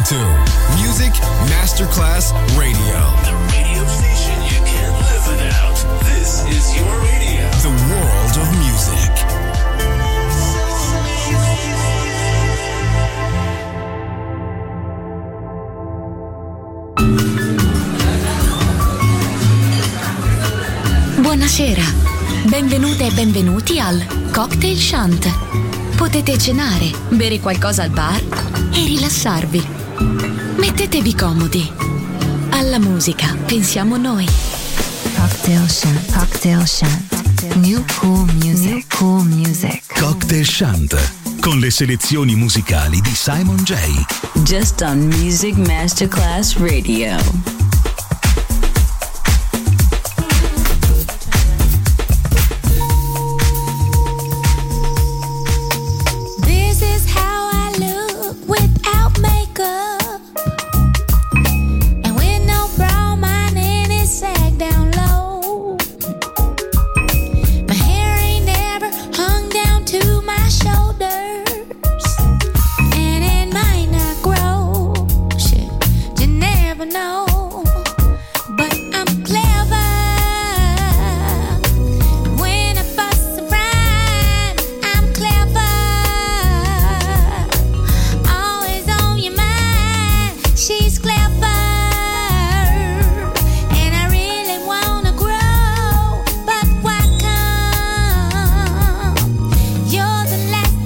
listening to Music Masterclass Radio. The radio station you can't live without. This is your radio. The world of music. Buonasera, benvenute e benvenuti al Cocktail Shant. Potete cenare, bere qualcosa al bar e rilassarvi. Mettetevi comodi. Alla musica pensiamo noi. Cocktail Shant. Cocktail Shant. New cool music. New cool music. Cocktail Shant, con le selezioni musicali di Simon J. Just on Music Masterclass Radio. You're the last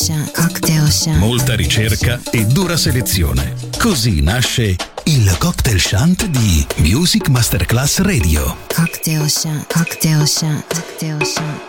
Molta ricerca e dura selezione. Così nasce il Cocktail Shant di Music Masterclass Radio. Cocktail Shant, Cocktail Shant, Cocktail Shant.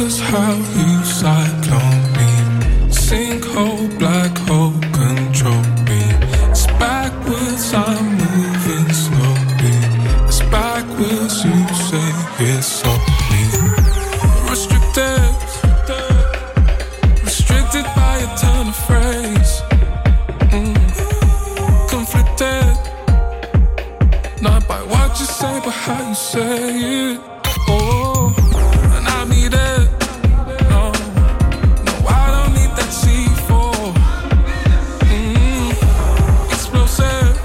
was how you cyclone me. Sinkhole, black hole, control me. It's backwards, I'm moving slowly. It's backwards, you say it's softly. Restricted, restricted by a turn of phrase. Conflicted, not by what you say, but how you say it. Oh, and I need it. No, no, I don't need that C4. Explosive.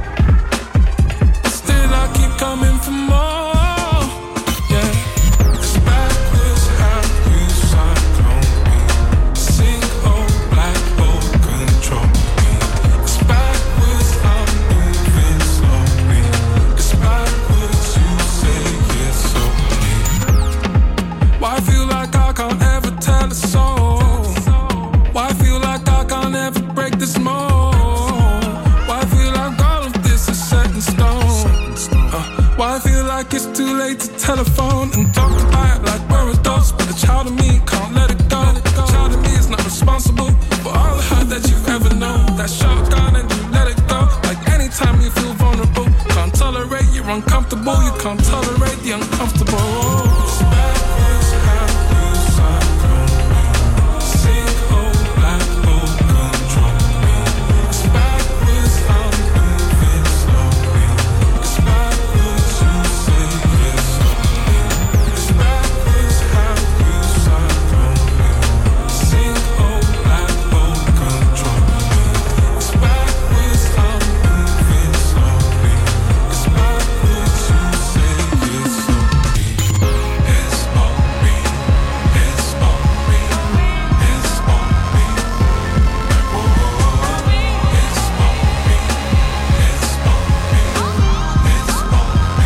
Still I keep coming for more. Yeah, it's backwards how you cyclone me. Sinkhole, black hole, control me. It's backwards, I'm moving slowly. It's backwards, you say it's so. Why I feel like I can't ever tell a soul? Why I feel like I can't ever break this mold? Why I feel like all of this is set in stone? Why I feel like it's too late to telephone and talk about it like we're adults, but the child of me can't let it go. The child of me is not responsible for all the hurt that you've ever known. That shotgun and you let it go. Like anytime you feel vulnerable, can't tolerate you're uncomfortable. You can't tolerate the uncomfortable. It's backwards how you cyclone me. Sinkhole, black hole, control me. It's backwards, I'm moving slowly. It's backwards, you say it's slowly. It's backwards how you cyclone me. Sinkhole, black hole, control me. It's backwards, I'm moving slowly. It's backwards, you say it's slowly. It's on me, it's on me, it's on me. Like whoa, it's on me, it's on me, it's on me.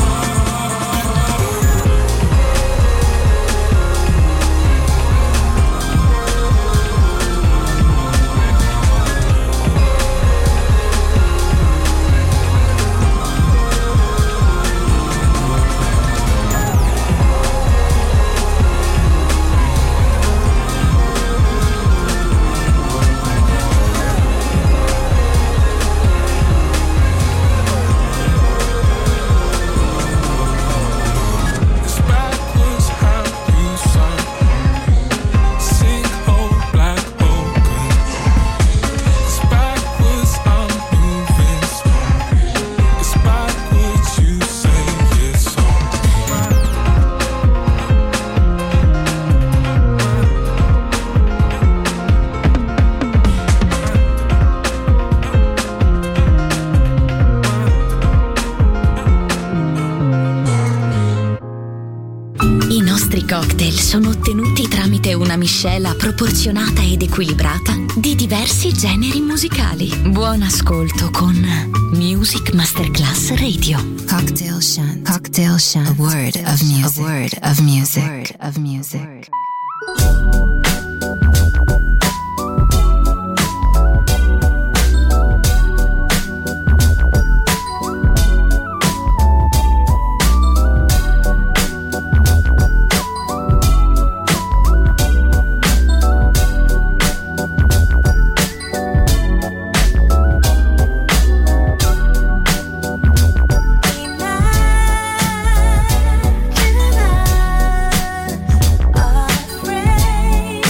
It's backwards how you cyclone me. Sinkhole, black hole, control. It's backwards, I'm moving slowly. It's backwards, you say it's on me. I nostri cocktail sono ottenuti tramite una miscela proporzionata ed equilibrata di diversi generi musicali. Buon ascolto con Music Masterclass Radio. Cocktail Shant. Cocktail Shant. A word of music. A word of music. A word of music. Afraid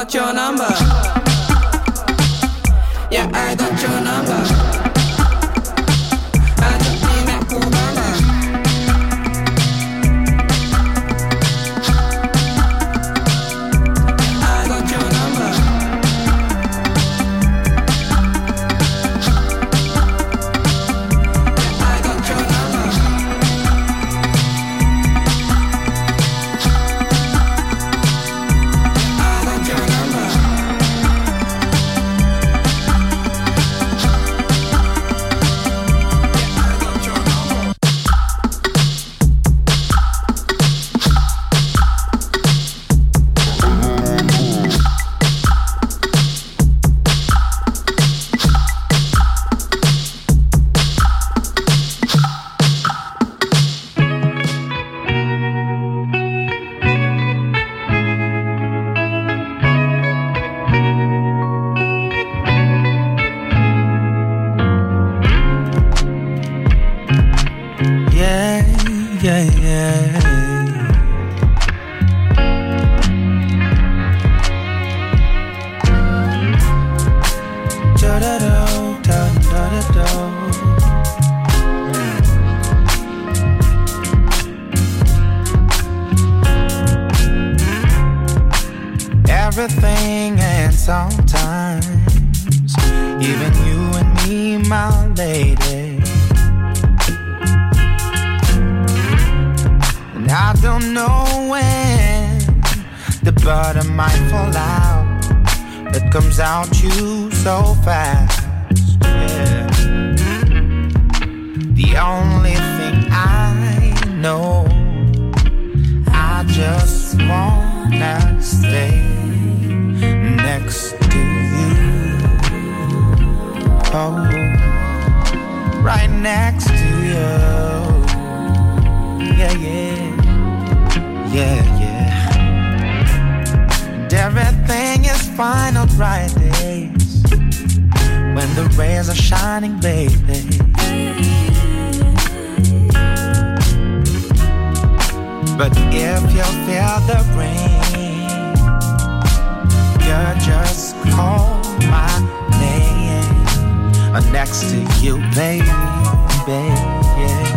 got your number. Yeah, I got your number. I don't need that cool number. I got your number. I got your number. I got your number. Everything and sometimes even you and me, my lady. And I don't know when the butter might fall out. It comes out you so fast, yeah. The only thing I know, I just wanna stay next to you. Oh, right next to you. Yeah, yeah, yeah, yeah. And everything is fine on bright days when the rays are shining, baby. But if you feel the rain, you just call my name. I'm next to you, baby, yeah.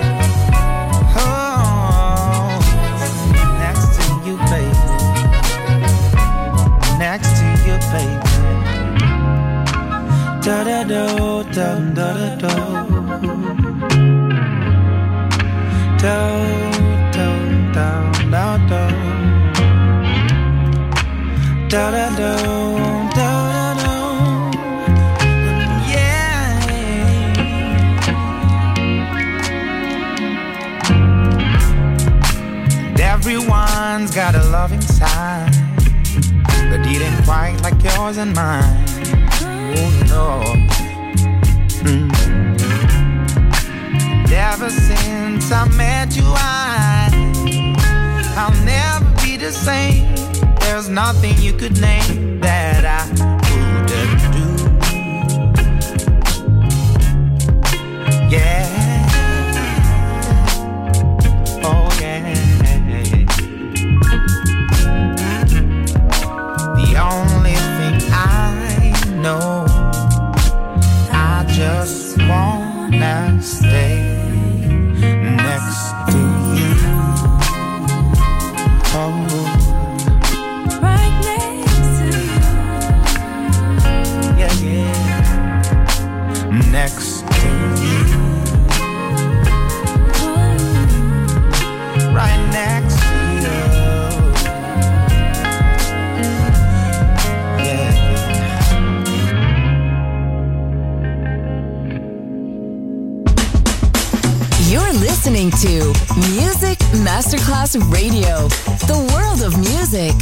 Oh, next to you, baby. Next to you, baby. Da da do, da da da do. Do do da da do, da da do, yeah. And everyone's got a loving side, but it ain't quite like yours and mine. Oh no. And ever since I met you, I'll never be the same. There's nothing you could name that I wouldn't do. Yeah. Oh yeah. The only thing I know, I just wanna stay next to you. Oh, right next to you. Yeah, yeah. Next to you. Right next to you. Yeah, yeah. You're listening to Music Masterclass Radio, the world of music.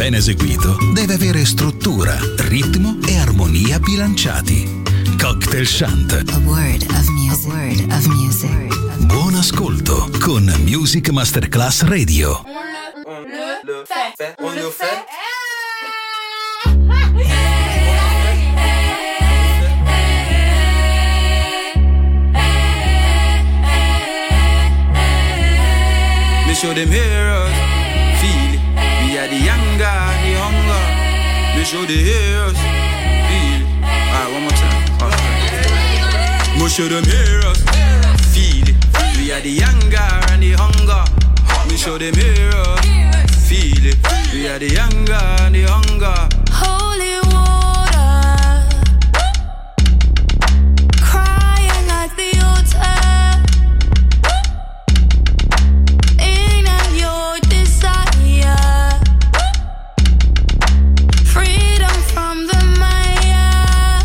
ben eseguito, deve avere struttura, ritmo e armonia bilanciati. Cocktail Chant. A word of music. A word of music. Buon ascolto con Music Masterclass Radio. On le fait. Me show them heroes, feel it. We are the younger, the hunger. Me show the heroes, feel it. Alright, one more time. Okay. Me show them heroes, feel it. We are the younger and the hunger. Me show them heroes, feel it. We are the younger and the hunger. Holy water, crying at the altar. Your desire, freedom from the Maya,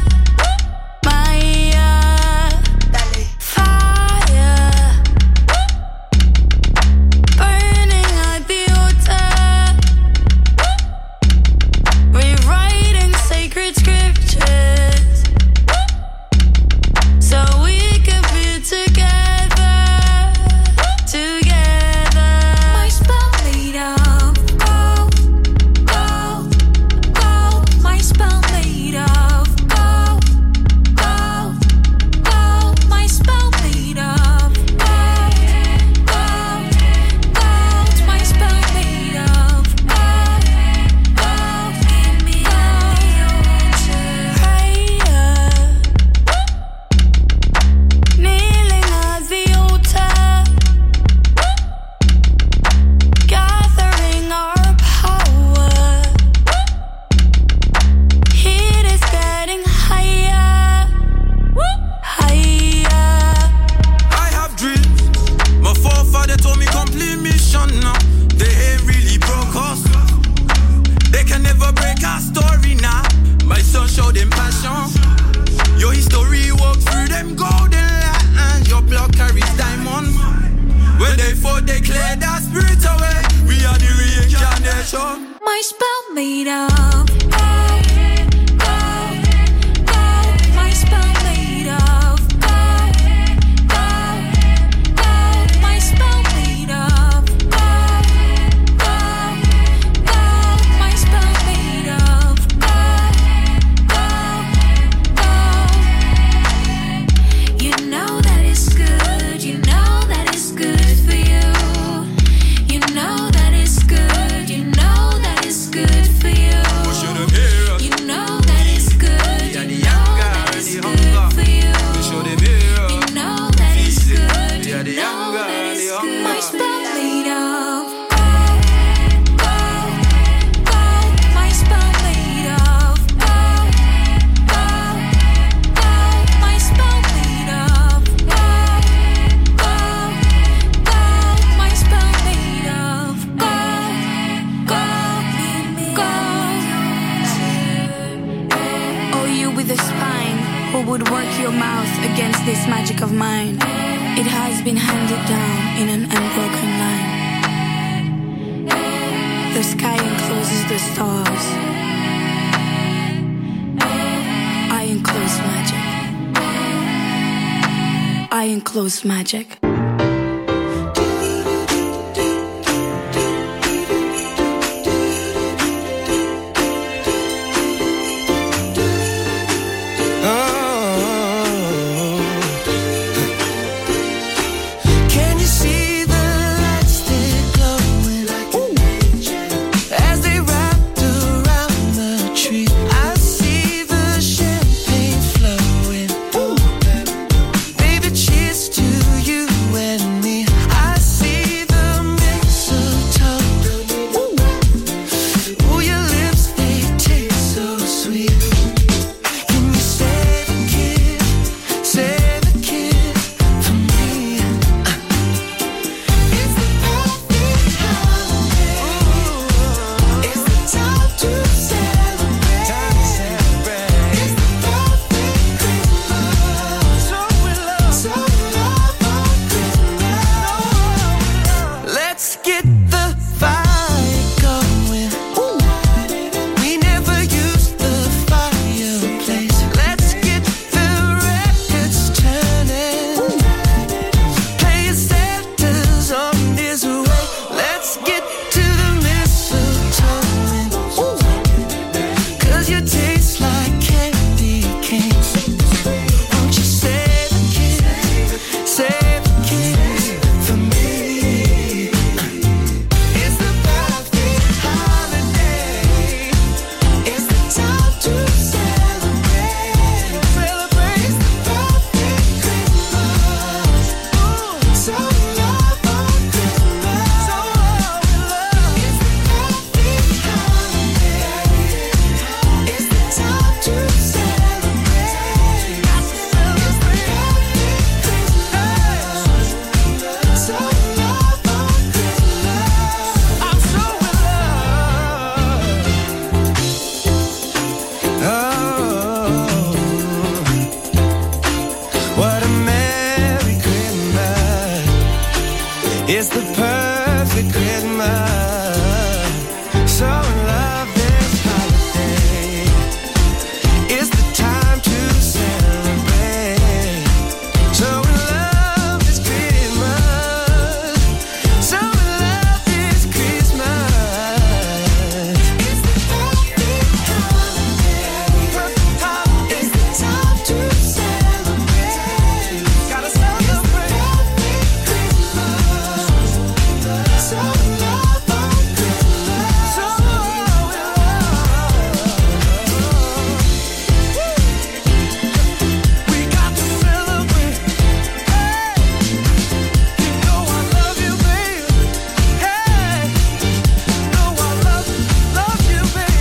fire, burning at the altar, rewriting sacred scriptures, so we could be together. My spell made of gold, gold, gold. My spell made of gold, gold, gold. My spell made of gold, gold, gold. My spell made of gold, gold, gold. You know that it's good. You know that it's good for you. You know that it's good. You know that it's good for you. You know that it's good. You know that it's good for you. You know that it's good. You know that it's good. My spell made of gold, gold, gold. My spell made of gold, gold, gold. My spell made of gold, gold, gold. My spell made of gold, gold, gold. Oh, you with a spine, who would work your mouth against this magic of mine? It has been handed down in an unbroken line. The sky encloses the stars. I enclose magic. I enclose magic. Can you see the lights still glowing as they wrapped around the tree? I see the champagne flowing. Baby, cheers to you It's the perfect Christmas. So in love this holiday. It's the time to celebrate. So in love this Christmas. So in love this Christmas. It's the perfect holiday. Perfect holiday. It's the time to celebrate. Gotta celebrate. So in love on Christmas. So in love. We got to celebrate. Hey, you know I love you, baby. Hey, know I love you, baby.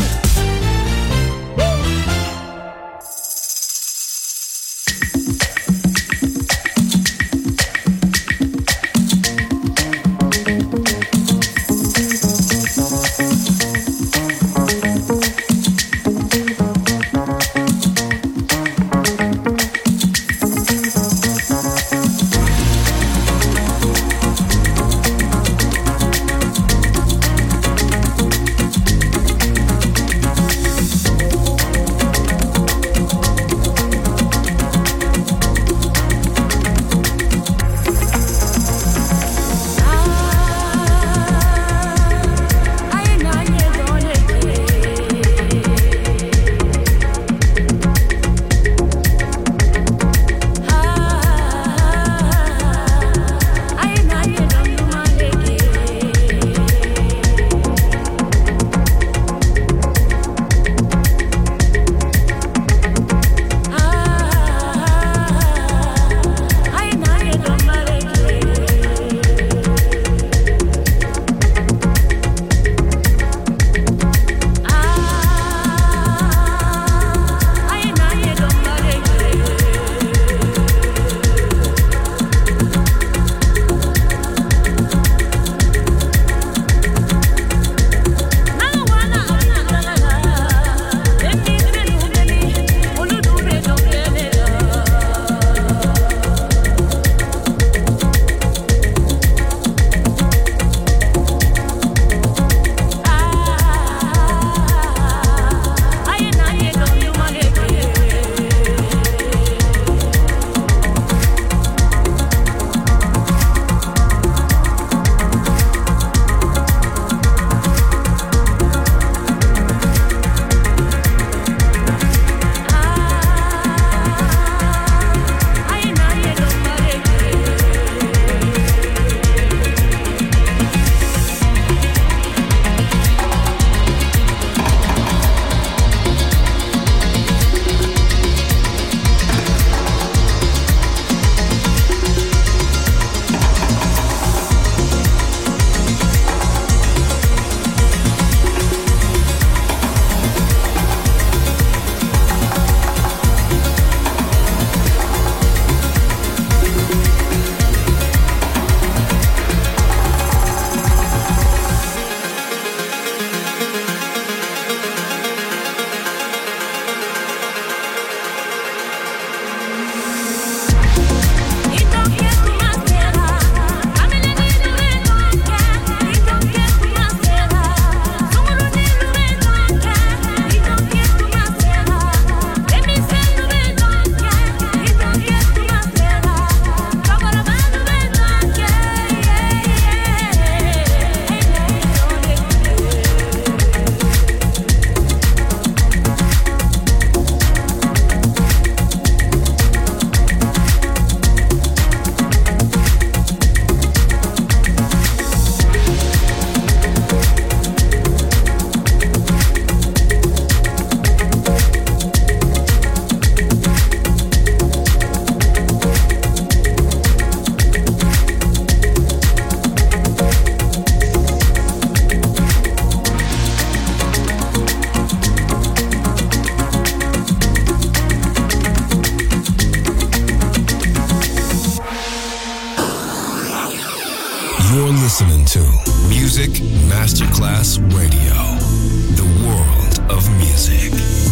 You're listening to Music Masterclass Radio, the world of music.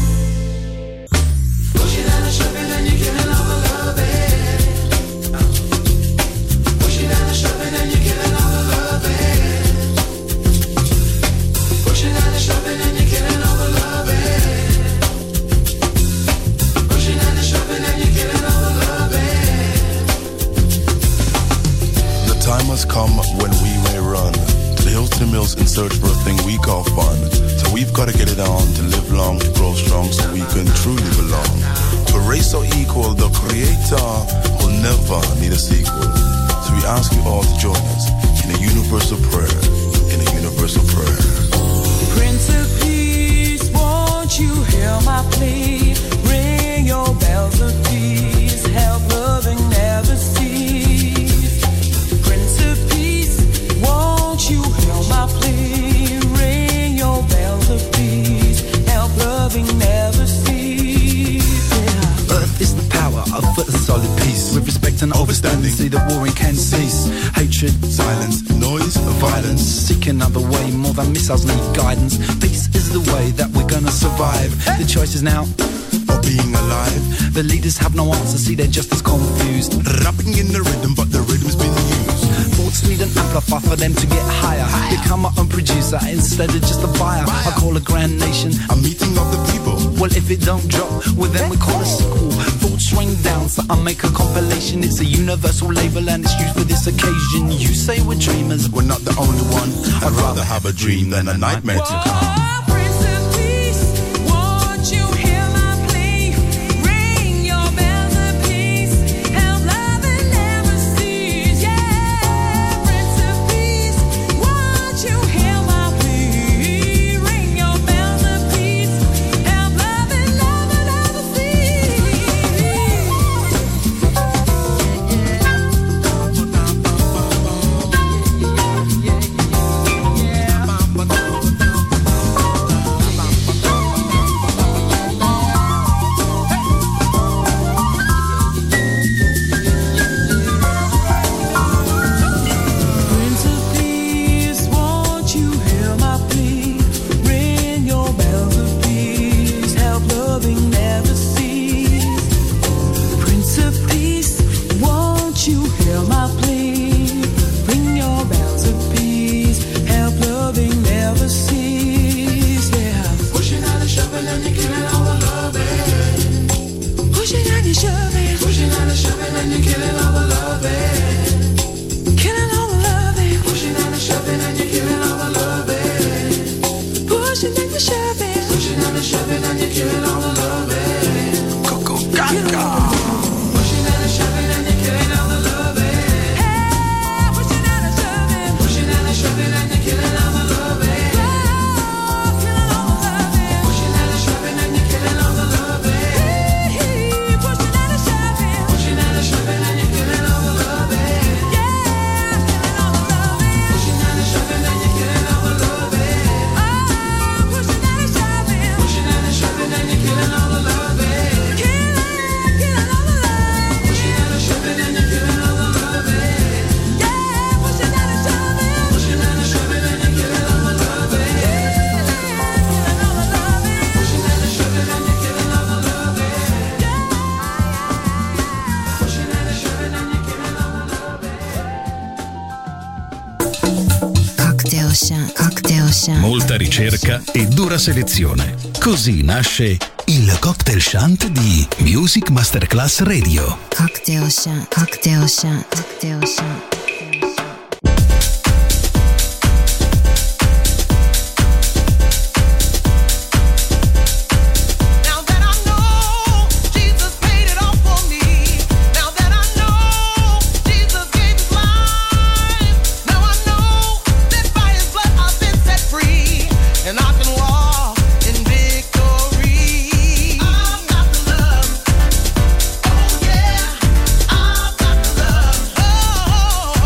Push it down the strip and then you're killing all the love it. Push it down the strip and then you're killing all the love it. search for a thing we call fun. So we've got to get it on to live long, to grow strong, so we can truly belong. To a race so equal, the Creator will never need a sequel. So we ask you all to join us in a universal prayer, in a universal prayer. Prince of Peace, won't you hear my plea? Ring your bells of peace, help loving never cease. Prince of Peace, won't you hear my plea? Ring your bells of peace, help loving never cease. Yeah. Earth is the power of a solid peace. With respect and overstanding, see that warring can cease. Hatred, silence, noise, violence. Seek another way, more than missiles need guidance. Peace is the way that we're gonna survive. The choice is now of being alive. The leaders have no answer, see they're just as confused. Rapping in the rhythm, but the rhythm's been used. Thoughts need an amplifier for them to get higher. Become my own producer instead of just a buyer. I call a grand nation a meeting of the people. Well, if it don't drop, well then we call a sequel. Thoughts rain down, so I make a compilation. It's a universal label and it's used for this occasion. You say we're dreamers, we're not the only one. I'd rather have a dream than a nightmare to come. Molta ricerca e dura selezione. Così nasce il Cocktail Shant di Music Masterclass Radio. Cocktail Shant, Cocktail Shant, Cocktail Shant. Oh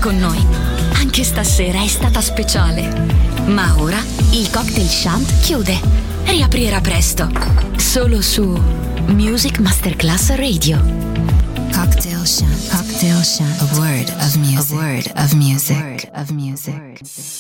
con noi. Anche stasera è stata speciale. Ma ora il Cocktail Shant chiude. Riaprirà presto. Solo su Music Masterclass Radio. Cocktail Shant. Cocktail Shant. A word of music. A word of music.